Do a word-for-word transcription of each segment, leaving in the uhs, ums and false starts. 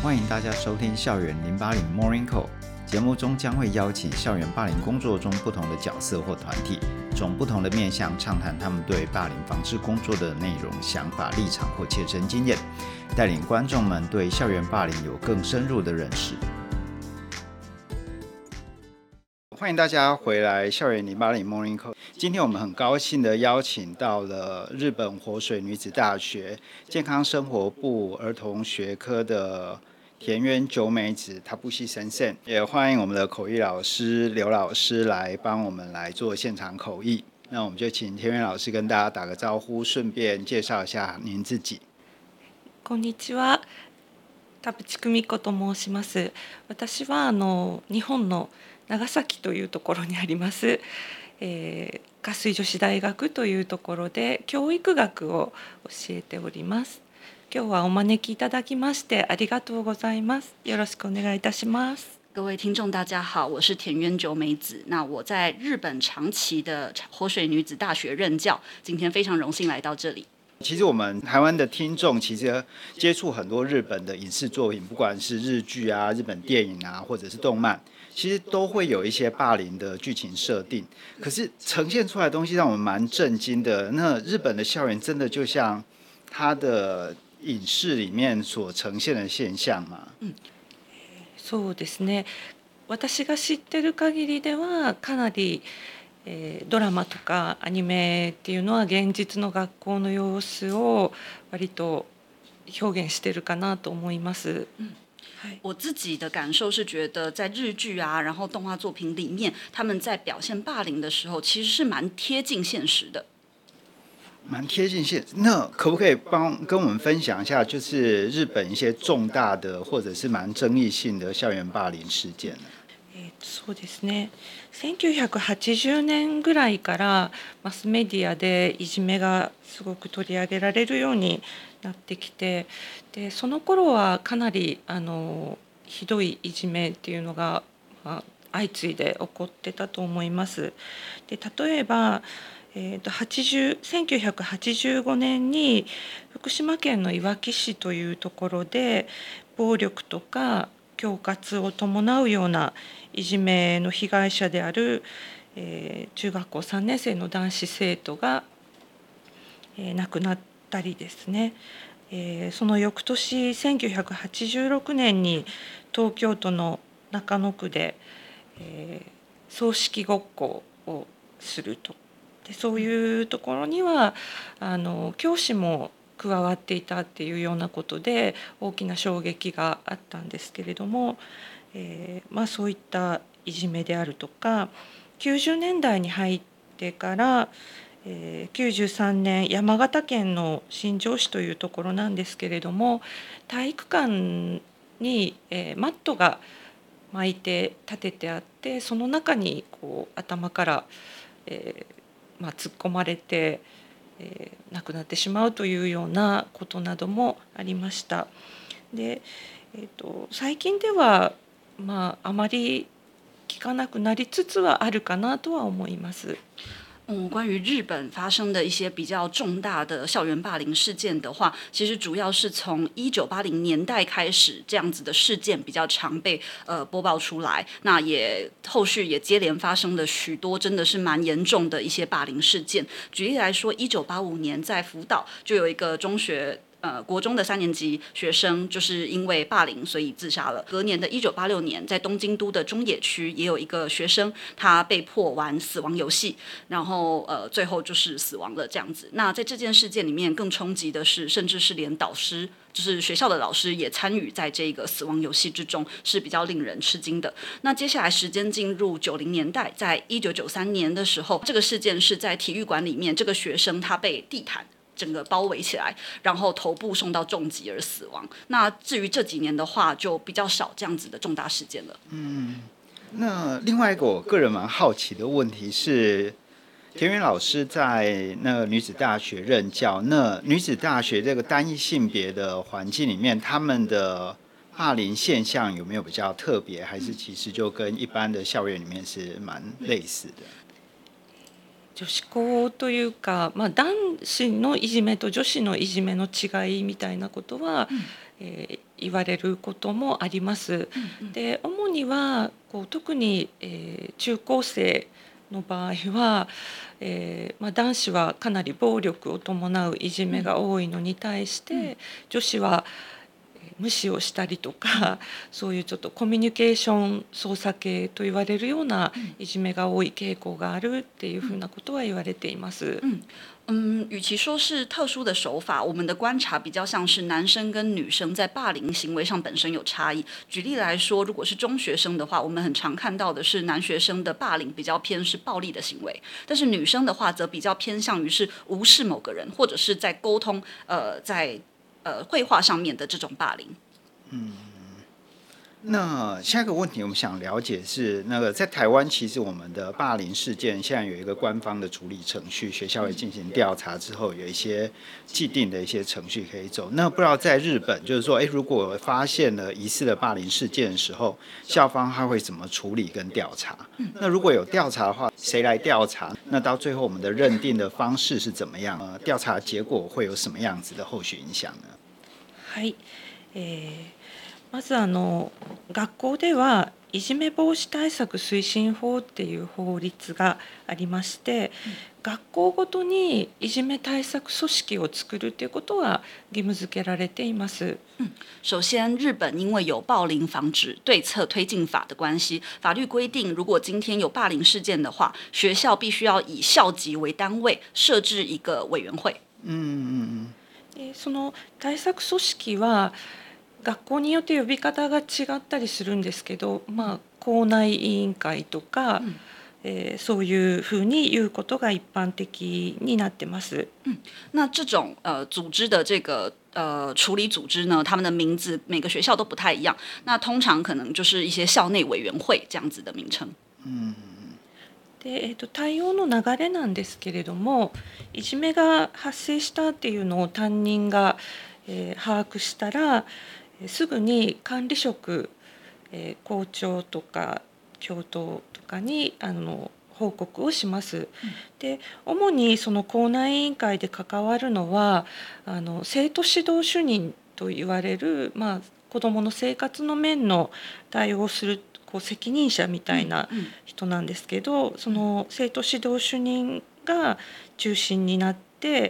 歡迎大家收聽校園零八零 Morning Call。節目中將會邀請校園霸凌工作中不同的角色或團體，從不同的面向暢談他們對霸凌防治工作的內容、想法、立場或切身經驗，帶領觀眾們對校園霸凌有更深入的認識。歡迎大家回來校園零八零 Morning Call。今天我們很高興的邀請到了日本活水女子大學健康生活部兒童學科的田園久美子Tabushi先生，也歡迎我們的口譯老師劉老師來幫我們來做現場口譯。那我們就請田園老師跟大家打個招呼，順便介紹一下您自己。 こんにちは、田淵久美子と申します。私はあの日本の長崎というところにあります、えー、加水女子大学というところで教育学を教えております。今日はお招きいただきましてありがとうございます。よろしくお願いいたします。 各位聽眾大家好，我是田園久美子。那我在日本長崎的活水女子大學任教，今天非常榮幸來到這裡。 其實我們台灣的聽眾其實接觸很多日本的影視作品，不管是日劇啊、日本電影啊，或者是動漫，其實都會有一些霸凌的劇情設定。可是呈現出來的東西讓我們蠻震驚的。那日本的校園真的就像它的影視裡面所呈現的現象嗎？ 嗯、そうですね。私が知ってる限りではかなり、えー、ドラマとかアニメっていうのは現実の学校の様子を割と表現してるかなと思います。嗯我自己的感受是覺得在日劇啊，然後動畫作品裡面，他們在表現霸凌的時候，其實是蠻貼近現實的。 蠻貼近現實。那可不可以幫跟我們分享一下，就是日本一些重大的或者是蠻爭議性的校園霸凌事件呢？ えー、そうですね。せんきゅうひゃくはちじゅうねんぐらいからマスメディアでいじめがすごく取り上げられるようになってきて、でその頃はかなりあのひどいいじめっていうのが、まあ、相次いで起こってたと思います。で例えば、えー、とせんきゅうひゃくはちじゅうごねんに福島県のいわき市というところで暴力とか恐喝を伴うようないじめの被害者である、えー、中学校さんねん生の男子生徒が、えー、亡くなったりですね、えー、その翌年せんきゅうひゃくはちじゅうろくねんに東京都の中野区で、えー、葬式ごっこをすると。でそういうところにはあの教師も加わっていたっていうようなことで大きな衝撃があったんですけれども、えーまあ、そういったいじめであるとかきゅうじゅうねんだいに入ってから、えー、きゅうじゅうさんねん山形県の新庄市というところなんですけれども体育館に、えー、マットが巻いて立ててあってその中にこう頭から、えーまあ、突っ込まれてえー、亡くなってしまうというようなことなどもありました。で、えーと、最近では、まあ、あまり聞かなくなりつつはあるかなとは思います。 嗯，關於日本發生的一些比較重大的校園霸凌事件的話，其實主要是從一九八零年代開始，這樣子的事件比較常被呃播報出來。那也後續也接連發生了許多真的是蠻嚴重的一些霸凌事件。舉例來說，一九八五年在福島就有一個中學。呃，國中的三年級學生就是因為霸凌，所以自殺了。隔年的一九八六年，在東京都的中野區也有一個學生，他被迫玩死亡遊戲，然後呃，最後就是死亡了這樣子。那在這件事件裡面，更衝擊的是，甚至是連導師，就是學校的老師也參與在這個死亡遊戲之中，是比較令人吃驚的。那接下來時間進入九零年代，在一九九三年的時候，這個事件是在體育館裡面，這個學生他被地毯整個包圍起來，然後頭部送到重擊而死亡。那至於這幾年的話，就比較少這樣子的重大事件了。 嗯，那另外一個我個人蠻好奇的問題是，田園老師在那個女子大學任教，那女子大學這個單一性別的環境裡面，他們的霸凌現象有沒有比較特別，還是其實就跟一般的校園裡面是蠻類似的？ 女子校というか、まあ、男子のいじめと女子のいじめの違いみたいなことは、うんえー、 言われることもあります。で主にはこう特に、えー中高生の場合は、えーまあ、男子はかなり暴力を伴ういじめが多いのに対して、うん、女子は無視をしたりとか、そういうちょっとコミュニケーション操作系と言われるようないじめが多い傾向があるっていうふうなことは言われています。 嗯嗯，與其說是特殊的手法，我們的觀察比較像是男生跟女生在霸凌行為上本身有差異。舉例來說，如果是中學生的話，我們很常看到的是男學生的霸凌比較偏是暴力的行為，但是女生的話則比較偏向於是無視某個人，或者是在溝通，呃，在呃繪畫上面的這種霸凌。 嗯。那下一個問題，我們想了解是那個在台灣，其實我們的霸凌事件現在有一個官方的處理程序，學校會進行調查之後，有一些既定的一些程序可以走。那不知道在日本，就是說，哎，如果發現了疑似的霸凌事件的時候，校方他會怎麼處理跟調查？那如果有調查的話，誰來調查？那到最後我們的認定的方式是怎麼樣？呃，調查結果會有什麼樣子的後續影響呢？ はい、えーまずあの学校ではいじめ防止対策推進法っていう法律がありまして、うん、学校ごとにいじめ対策組織を作るということは義務付けられています。 嗯，首先，日本因為有暴凌防止對策推進法的關係，法律規定，如果今天有霸凌事件的話，學校必須要以校級為單位設置一個委員會。嗯嗯嗯。その対策組織は学校によって呼び方が違ったりするんですけど、まあ、校內委員會とか、うんえー、そういうふうに言うことが一般的になってます。 嗯，那這種呃組織的這個呃處理組織呢，他們的名字每個學校都不太一樣。那通常可能就是一些校內委員會這樣子的名稱。嗯。 で、えーと、対応の流れなんですけれども、いじめが発生したっていうのを担任が、えー、把握したら、すぐに管理職、えー、校長とか教頭とかにあの報告をします。うん、で主にその校内委員会で関わるのはあの生徒指導主任と言われる、まあ、子どもの生活の面の対応をするこう責任者みたいな人なんですけど、うんうん、その生徒指導主任が中心になって、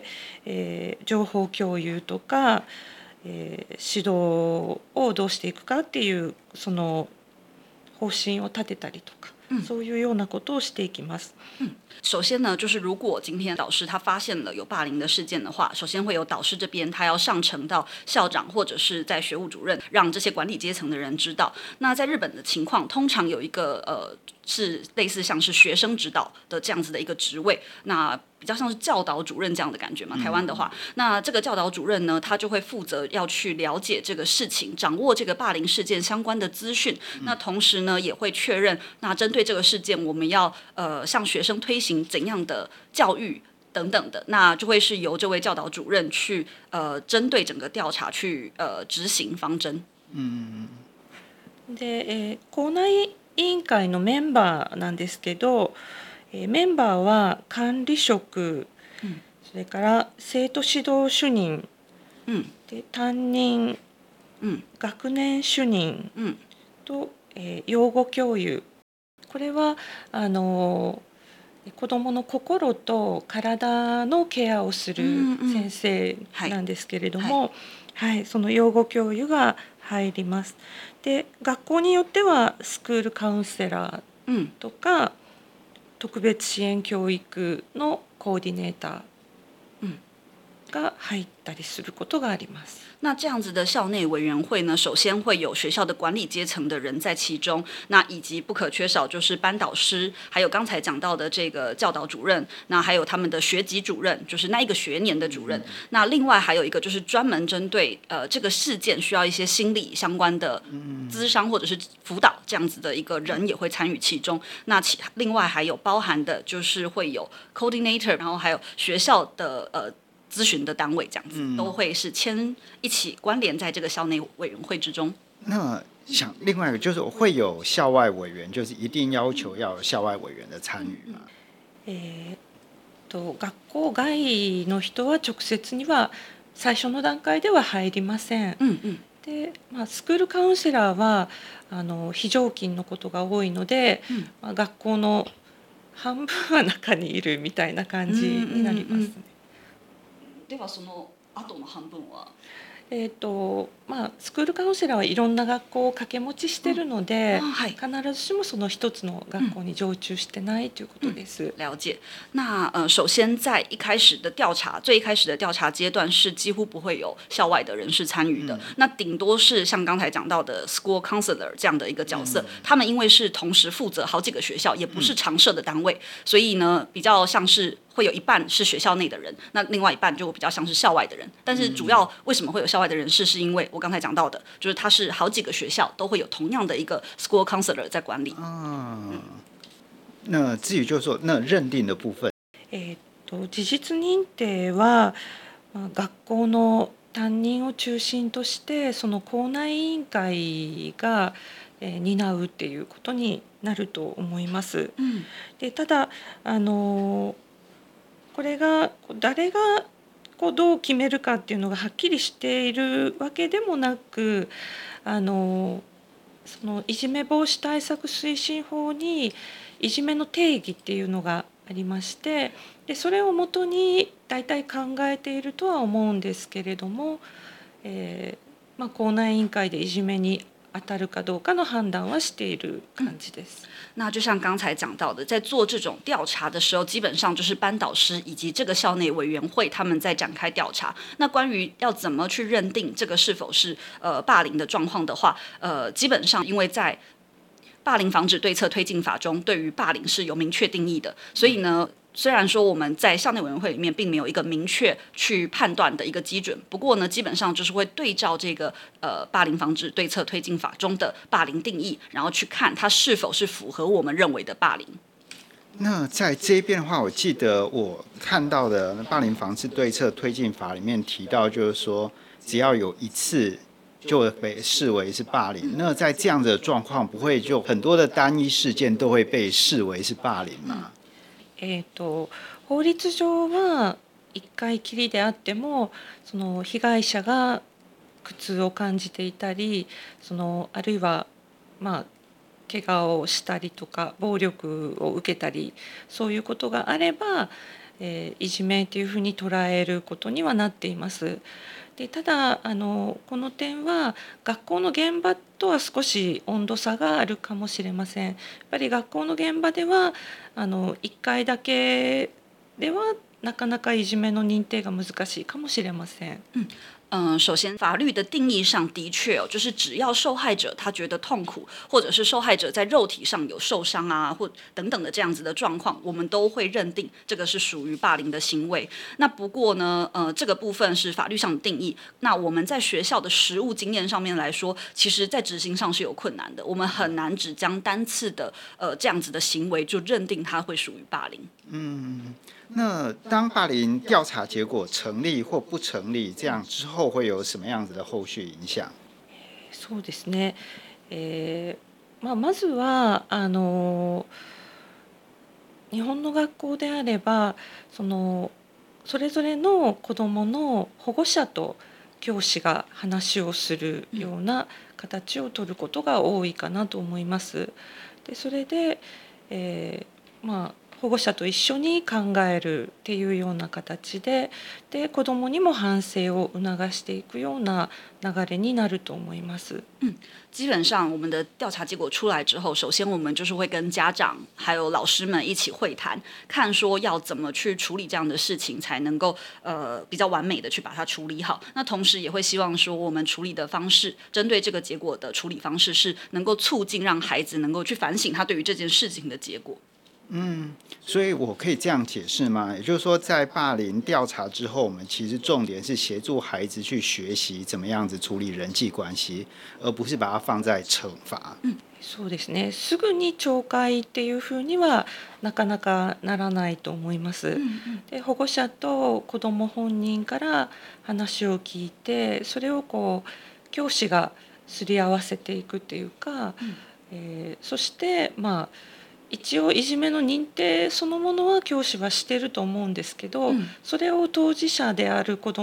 えー、情報共有とかえー、指導をどうしていくかっていうその方針を立てたりとか、うん、そういうようなことをしていきます。 嗯，首先呢，就是如果今天導師他發現了有霸凌的事件的話，首先會有導師這邊他要上呈到校長或者是在學務主任，讓這些管理階層的人知道。那在日本的情況，通常有一個呃是類似像是學生指導的這樣子的一個職位，那比較像是教導主任這樣的感覺嘛。台灣的話，那這個教導主任呢，他就會負責要去了解這個事情，掌握這個霸凌事件相關的資訊。那同時呢，也會確認，那針對這個事件，我們要呃向學生推行怎樣的教育等等的，那就會是由這位教導主任去呃針對整個調查去呃執行方針。嗯。 で、えー、校內委員會のメンバーなんですけど、えー、メンバーは管理職、うん、それから生徒指導主任、うん、で担任、うん、学年主任、うん、と、えー、養護教諭。これはあの子どもの心と体のケアをする先生なんですけれども、うんうんはいはい、その養護教諭が入ります。で学校によってはスクールカウンセラーとか、うん、特別支援教育のコーディネーターが入ったりすることがあります。 那這樣子的校內委員會呢，首先會有學校的管理階層的人在其中，那以及不可缺少就是班導師，還有剛才講到的這個教導主任，那還有他們的學級主任，就是那一個學年的主任。嗯、那另外還有一個就是專門針對呃這個事件需要一些心理相關的諮商或者是輔導這樣子的一個人也會參與其中。那其另外還有包含的就是會有 coordinator， 然後還有學校的呃。諮詢的單位這樣子、嗯、都會是牽一起關聯在這個校內委員會之中。 那想另外一個就是會有校外委員，就是一定要求要有校外委員的參與嗎？ えー、と學校外の人は直接には最初の段階では入りません。うんうんで、まあ、スクールカウンセラーはあの非常勤のことが多いので、 うんまあ、学校の半分は中にいるみたいな感じになりますね。 うんうんうん、ではその後の半分はえーとまあ、スクールカウンセラーはいろんな学校を掛け持ちしてるので、 嗯はい、 必ずしもその一つの学校に常駐してないということです。 嗯、了解。那呃，首先在一開始的調查，最一開始的調查階段是幾乎不會有校外的人士參與的，嗯、那頂多是像剛才講到的 school counselor 這樣的一個角色，嗯、他們因為是同時負責好幾個學校，也不是常設的單位，嗯、所以呢，比較像是。會有一半是學校內的人，那另外一半就比較像是校外的人。但是主要為什麼會有校外的人士，是因為我剛才講到的，就是他是好幾個學校都會有同樣的一個 school counselor 在管理。啊， 嗯、那至於就是說，那認定的部分， えっと事実認定は、まあ、學校の擔任を中心としてその校内委員會が、えー、担うっていうことになると思います。うん、でただあのこれが誰がこうどう決めるかっていうのがはっきりしているわけでもなく、あのそのいじめ防止対策推進法にいじめの定義っていうのがありまして、でそれをもとに大体考えているとは思うんですけれども、えーまあ、校内委員会でいじめに当たるかどうかの判斷はしている感じです。 那就像剛才講到的，在做這種調查的時候，基本上就是班導師以及這個校內委員會他們在展開調查。那關於要怎麼去認定這個是否是呃霸凌的狀況的話，呃，基本上因為在霸凌防止對策推進法中，對於霸凌是有明確定義的，所以呢。雖然說我們在校內委員會裡面並沒有一個明確去判斷的一個基準，不過呢，基本上就是會對照這個呃霸凌防止對策推進法中的霸凌定義，然後去看它是否是符合我們認為的霸凌。 那在這邊的話，我記得我看到的霸凌防治對策推進法裡面提到，就是說只要有一次就會被視為是霸凌。那在這樣的狀況，不會就很多的單一事件都會被視為是霸凌嗎？ えーと、法律上はいっかいきりであってもその被害者が苦痛を感じていたり、そのあるいはまあ怪我をしたりとか暴力を受けたりそういうことがあれば、えー、いじめというふうに捉えることにはなっています。でただあのこの点は学校の現場とは少し温度差があるかもしれません。やっぱり学校の現場ではあのいっかいだけではなかなかいじめの認定が難しいかもしれません。 うん嗯，首先，法律的定義上的確哦，就是只要受害者他覺得痛苦，或者是受害者在肉體上有受傷啊，或等等的這樣子的狀況，我們都會認定這個是屬於霸凌的行為。那不過呢，呃，這個部分是法律上的定義。那我們在學校的實務經驗上面來說，其實在執行上是有困難的。我們很難只將單次的呃這樣子的行為就認定它會屬於霸凌。 嗯。那當霸凌調查結果成立或不成立，這樣之後會有什麼樣子的後續影響？ そうですね。えーまあ、まずはあの日本の学校であればそのそれぞれの子どもの保護者と教師が話をするような形を取ることが多いかなと思います。でそれで、えーまあ保護者と一緒に考えるっていうような形で、で子どもにも反省を促していくような流れになると思います。 嗯，基本上我們的調查結果出來之後，首先我們就是會跟家長還有老師們一起會談，看說要怎麼去處理這樣的事情，才能夠呃比較完美的去把它處理好。那同時也會希望說，我們處理的方式，針對這個結果的處理方式，是能夠促進讓孩子能夠去反省他對於這件事情的結果。 嗯，所以我可以這樣解釋嗎？也就是說，在霸凌調查之後，我們其實重點是協助孩子去學習怎麼樣子處理人際關係，而不是把它放在懲罰。 嗯、そうですね。すぐに懲戒っていうふうにはなかなかならないと思います。うんうん、で保護者と子ども本人から話を聞いて、それをこう教師がすり合わせていくっていうか、うんえー、そしてまあ一応いじめの認定そのものは教師はしてると思うんですけど、うん、それを当事者である子ども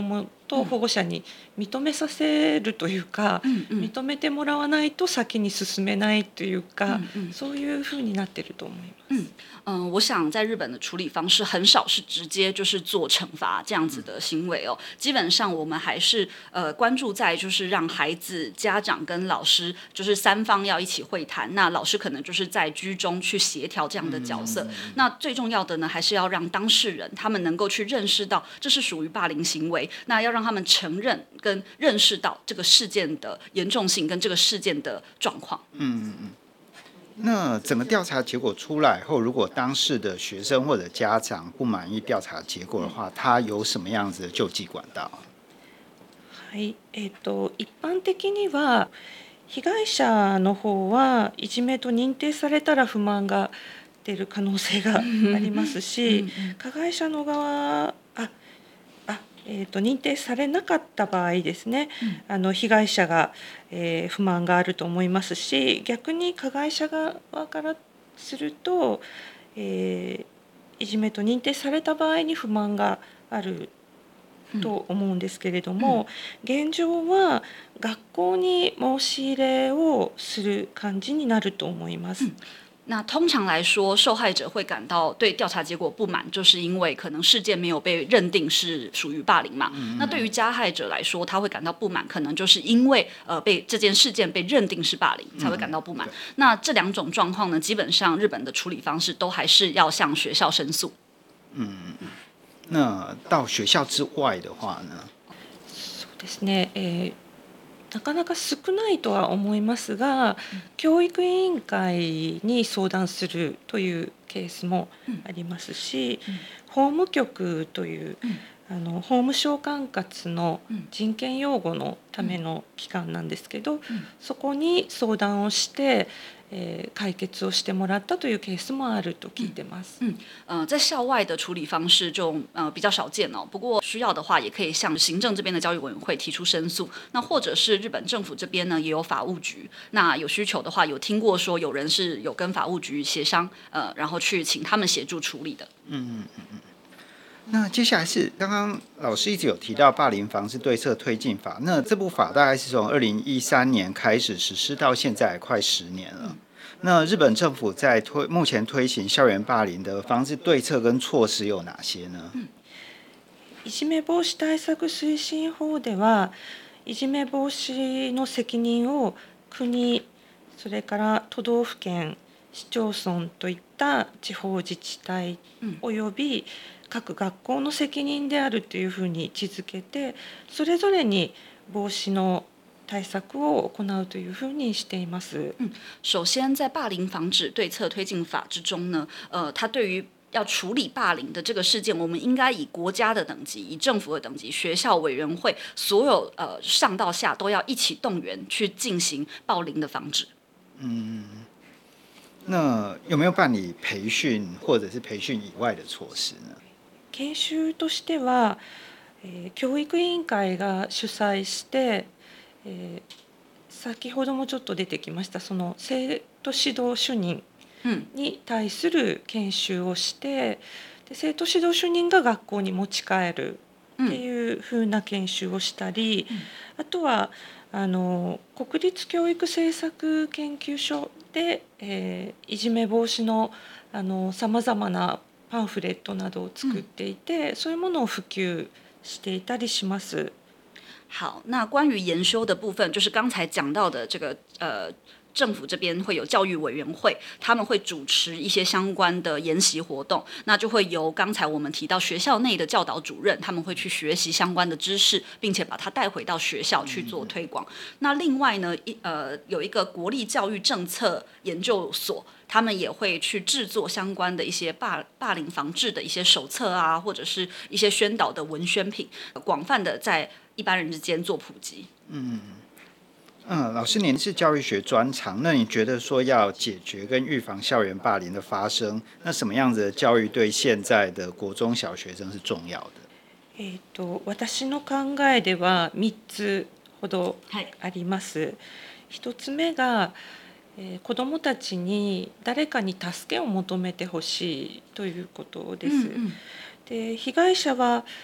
と保護者に認めさせるというか、 嗯嗯認めてもらわないと先に進めないというか、 嗯嗯そういうふうになってると思います。 嗯嗯、呃，我想在日本的處理方式很少是直接就是做懲罰這樣子的行為哦，基本上我們還是呃關注在就是讓孩子、家長跟老師就是三方要一起會談，那老師可能就是在居中去協調這樣的角色。嗯、那最重要的呢，還是要讓當事人他們能夠去認識到這是屬於霸凌行為，那要讓他們承認跟認識到這個事件的嚴重性跟這個事件的狀況。 嗯嗯嗯。那整個調查結果出來後，如果當事的學生或者家長不滿意調查結果的話，他有什麼樣子的救濟管道？ はい、えーと、一般的には被害者の方はいじめと認定されたら不満が出る可能性がありますし、加害者の側ああえー、と認定されなかった場合ですね、うん、あの被害者が、えー、不満があると思いますし、逆に加害者側からすると、えー、いじめと認定された場合に不満があると思うんですけれども、うん、現状は学校に申し入れをする感じになると思います。 うん那通常來說，受害者會感到對調查結果不滿，就是因為可能事件沒有被認定是屬於霸凌嘛。嗯、那對於加害者來說，他會感到不滿，可能就是因為呃被這件事件被認定是霸凌，才會感到不滿。嗯、那這兩種狀況呢，基本上日本的處理方式都還是要向學校申訴。 嗯，那到學校之外的話呢？ そうですね。えーなかなか少ないとは思いますが、うん、教育委員会に相談するというケースもありますし、うん、法務局という、うん、あの法務省管轄の人権擁護のための機関なんですけど、うん、そこに相談をして、えー、解決をしてもらったというケースもあると聞いてます。 嗯，呃，在校外的處理方式就呃比較少見哦。不過需要的話，也可以向行政這邊的教育委員會提出申訴。那或者是日本政府這邊呢，也有法務局。那有需求的話，有聽過說有人是有跟法務局協商，呃，然後去請他們協助處理的。 嗯嗯嗯。那接下來是剛剛老師一直有提到霸凌防治對策推進法，那這部法大概是從二零一三年開始實施到現在快十年了。那日本政府在推目前推行校園霸凌的防治對策跟措施有哪些呢？ いじめ防止対策推進法では、いじめ防止の責任を国、それから都道府県、市町村といった地方自治体および各学校の責任であるというふうに位置づけて、それぞれに防止の対策を行うというふうにしています。 嗯，首先在霸凌防止對策推進法之中呢，呃，它對於要處理霸凌的這個事件，我們應該以國家的等級、以政府的等級、學校委員會，所有呃上到下都要一起動員去進行暴凌的防止。嗯， 那有沒有辦理培訓或者是培訓以外的措施呢？ 研修としては、えー、教育委員會が主催して、えー、先ほどもちょっと出てきましたその生徒指導主任に対する研修をして、で生徒指導主任が学校に持ち帰るっていうふうな研修をしたり、うん、あとはあの国立教育政策研究所で、えー、いじめ防止のさまざまなパンフレットなどを作っていて、嗯、そういうものを普及していたりします。 好，那關於研修的部分，就是剛才講到的這個呃。政府這邊會有教育委員會，他們會主持一些相關的研習活動，那就會由剛才我們提到學校內的教導主任，他們會去學習相關的知識，並且把它帶回到學校去做推廣。嗯、那另外呢，一呃有一個國立教育政策研究所，他們也會去製作相關的一些霸霸凌防治的一些手冊啊，或者是一些宣導的文宣品，廣泛的在一般人之間做普及。嗯。 嗯，老師，您是教育學專長，那你覺得說要解決跟預防校園霸凌的發生，那什麼樣子的教育對現在的國中小學生是重要的？ えっと、私の考えではみっつほどあります。一つ目が、えー、子どもたちに誰かに助けを求めてほしいということです。うんうん、で、被害者は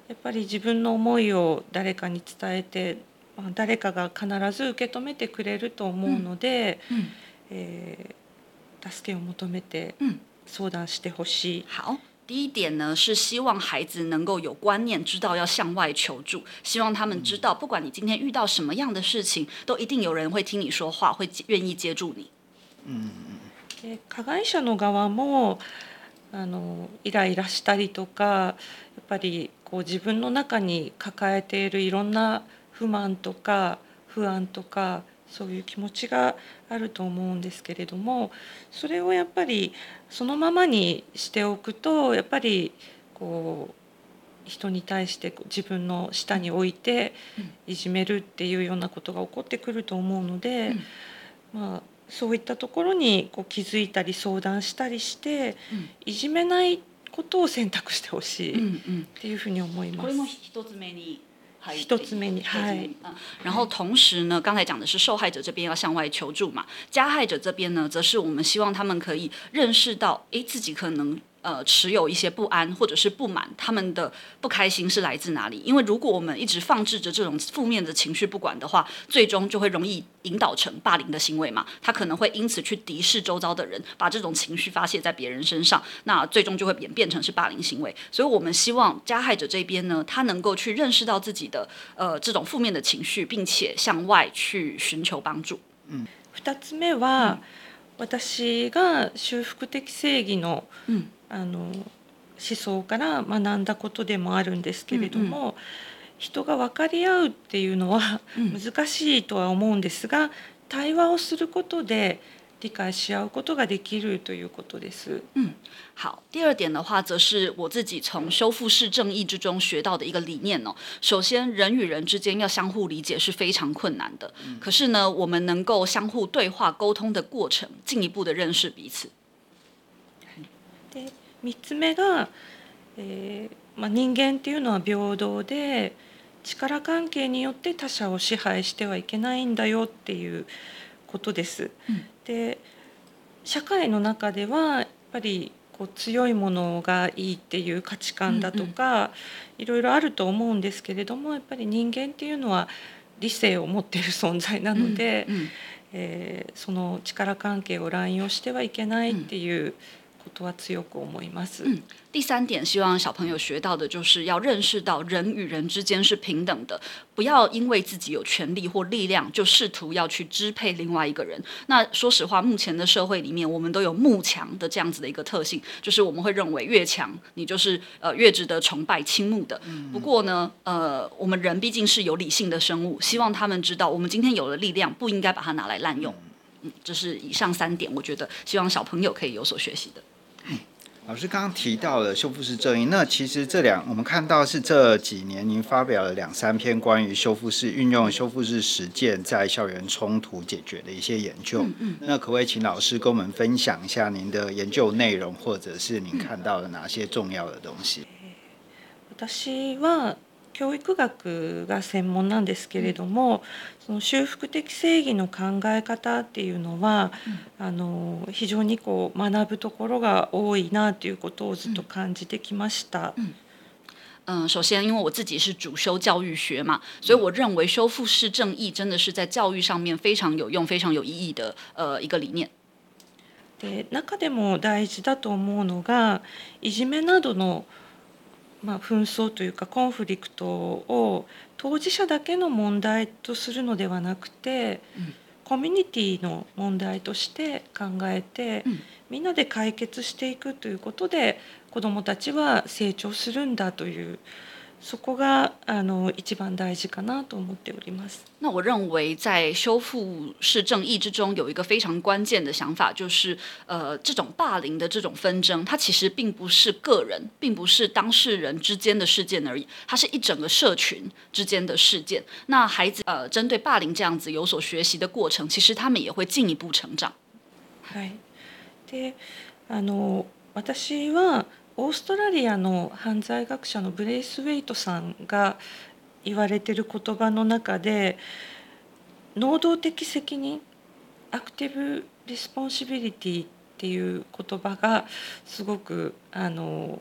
やっぱり自分の思いを誰かに伝えて、まあ、誰かが必ず受け止めてくれると思うので、 嗯えー助けを求めて嗯， 相談してほしい。 好。第一点呢，是希望孩子能夠有觀念，知道要向外求助。希望他們知道，不管你今天遇到什麼樣的事情，都一定有人會聽你說話，會願意接住你。 で加害者の側もあのイライラしたりとか、やっぱりこう自分の中に抱えているいろんな不満とか不安とかそういう気持ちがあると思うんですけれども、それをやっぱりそのままにしておくと、やっぱりこう人に対して自分の下に置いていじめるっていうようなことが起こってくると思うので、まあそういったところにこう気づいたり相談したりして、いじめないことを選択してほしいっていうふうに思います。 これも一つ目に一つ目に，はい。 然後同時呢，剛才講的是受害者這邊要向外求助嘛，加害者這邊呢，則是我們希望他們可以認識到，誒，自己可能呃持有一些不安或者是不滿，他們的不開心是來自哪裡？因為如果我們一直放置着這種負面的情緒不管的話，最終就會容易引導成霸凌的行為嘛。他可能會因此去敵視周遭的人，把這種情緒發洩在別人身上，那最終就會演變成是霸凌行為。所以我們希望加害者這邊呢，他能夠去認識到自己的呃這種負面的情緒，並且向外去尋求幫助。 嗯，二つ目は、嗯、私が修復的正義の、嗯あの思想から学んだことでもあるんですけれども、うんうん、人が分かり合うっていうのは難しいとは思うんですが、うん、対話をすることで理解し合うことができるということです。 嗯，好。第二點的話，則是我自己從修復式正義之中學到的一個理念哦。首先，人與人之間要相互理解是非常困難的，嗯、可是呢，我們能夠相互對話溝通的過程，進一步的認識彼此。 でみっつめが、えーまあ、人間っていうのは平等で力関係によって他者を支配してはいけないんだよっていうことです。うん、で社会の中ではやっぱりこう強いものがいいっていう価値観だとか、うんうん、いろいろあると思うんですけれども、やっぱり人間っていうのは理性を持っている存在なので、うんうんえー、その力関係を乱用してはいけないっていう、うんことは強く思います。 嗯，第三點希望小朋友學到的就是要認識到人與人之間是平等的，不要因為自己有權力或力量就試圖要去支配另外一個人。那說實話，目前的社會裡面，我們都有慕強的這樣子的一個特性，就是我們會認為越強，你就是呃越值得崇拜傾慕的。不過呢，呃，我們人畢竟是有理性的生物，希望他們知道，我們今天有了力量，不應該把它拿來濫用。嗯，這是以上三點，我覺得希望小朋友可以有所學習的。 老師剛剛提到了修復式正義，那其實這兩我們看到是這幾年您發表了兩三篇關於修復式運用修復式實踐在校園衝突解決的一些研究。嗯嗯、那可不可以請老師跟我們分享一下您的研究內容，或者是您看到了哪些重要的東西？ 私は教育學が専門なんですけれども、その修復的正義の考え方っていうのは、うん、あの非常にこう学ぶところが多いなということをずっと感じてきました。 嗯嗯，首先，因為我自己是主修教育學嘛，所以我認為修復式正義真的是在教育上面非常有用、非常有意義的呃一個理念。 で、中でも大事だと思うのが、いじめなどのまあ、紛争というかコンフリクトを当事者だけの問題とするのではなくて、うん、コミュニティの問題として考えて、うん、みんなで解決していくということで子どもたちは成長するんだという、そこがあの一番大事かなと思っております。 那我認為在修復式正義之中有一個非常關鍵的想法，就是呃這種霸凌的這種紛爭，它其實並不是個人，並不是當事人之間的事件而已，它是一整個社群之間的事件。那孩子呃針對霸凌這樣子有所學習的過程，其實他們也會進一步成長。 はい。で、あの私はオーストラリアの犯罪学者のブレイスウェイトさんが言われている言葉の中で、能動的責任、アクティブ・リスポンシビリティっていう言葉がすごくあの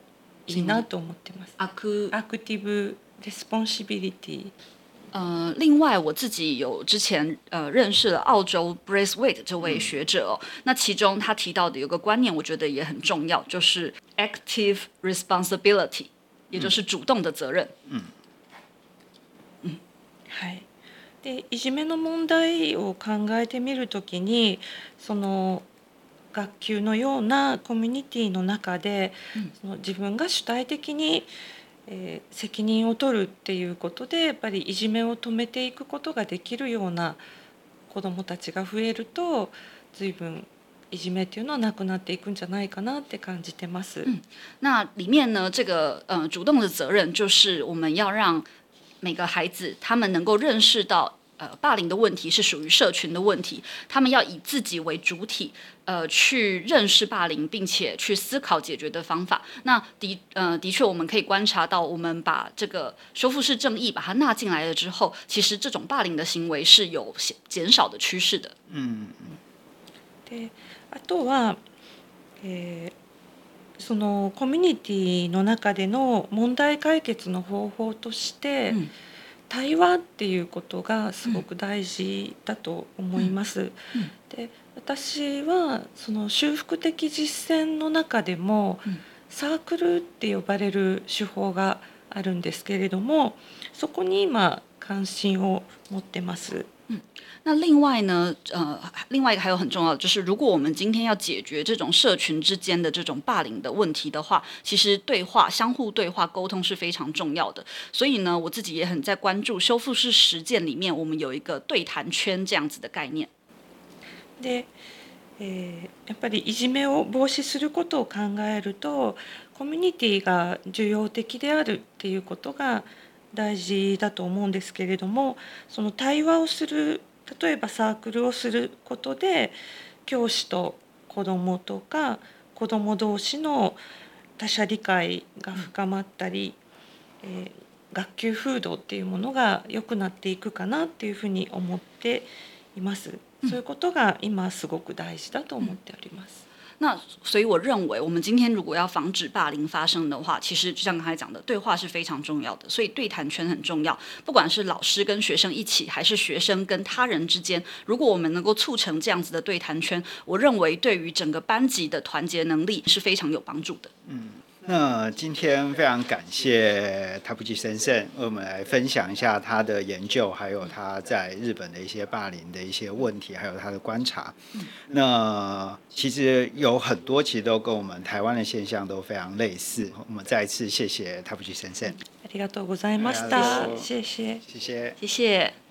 いいなと思ってます。 アクアクティブレスポンシビリティ。 呃，另外我自己有之前呃認識了澳洲 Braithwaite 這位學者哦，嗯、那其中他提到的有個觀念，我覺得也很重要，就是 active responsibility，也就是主動的責任。 嗯。嗯。はい。で、いじめの問題を考えてみるときに、その学級のようなコミュニティの中で、うん、その自分が主体的にえー、責任を取るっていうことでやっぱりいじめを止めていくことができるような子どもたちが増えると随分いじめっていうのはなくなっていくんじゃないかなって感じてます。 嗯，那裡面呢，這個呃主動的責任就是我們要讓每個孩子他們能夠認識到。呃，霸凌的問題是屬於社群的問題，他們要以自己為主體，呃，去認識霸凌，並且去思考解決的方法。那的呃的確，我們可以觀察到，我們把這個修復式正義把它納進來了之後，其實這種霸凌的行為是有減少的趨勢的。嗯。 で、あとは、えー、そのコミュニティの中での問題解決の方法として。うん対話っていうことがすごく大事だと思います。うんうん、で、私はその修復的実践の中でも、うん、サークルって呼ばれる手法があるんですけれども、そこに今関心を持ってます。 嗯，那另外呢，呃，另外一個還有很重要的就是，如果我們今天要解決這種社群之間的這種霸凌的問題的話，其實對話、相互對話、溝通是非常重要的。所以呢，我自己也很在關注修復式實踐裡面，我們有一個對談圈這樣子的概念。 で、えー、やっぱりいじめを防止することを考えると、コミュニティが重要的であるっていうことが大事だと思うんですけれども、その対話をする、例えばサークルをすることで教師と子どもとか子ども同士の他者理解が深まったり、えー、学級風土っていうものが良くなっていくかなっていうふうに思っています。そういうことが今すごく大事だと思っております。 那所以我認為，我們今天如果要防止霸凌發生的話，其實就像剛才講的，對話是非常重要的。所以對談圈很重要，不管是老師跟學生一起，還是學生跟他人之間，如果我們能夠促成這樣子的對談圈，我認為對於整個班級的團結能力是非常有幫助的。 嗯。那今天非常感謝塔布吉先生，為我們來分享一下他的研究，還有他在日本的一些霸凌的一些問題，還有他的觀察。那其實有很多其實都跟我們台灣的現象都非常類似。我們再一次謝謝塔布吉先生。 ありがとうございました。謝謝。 謝謝。 謝謝。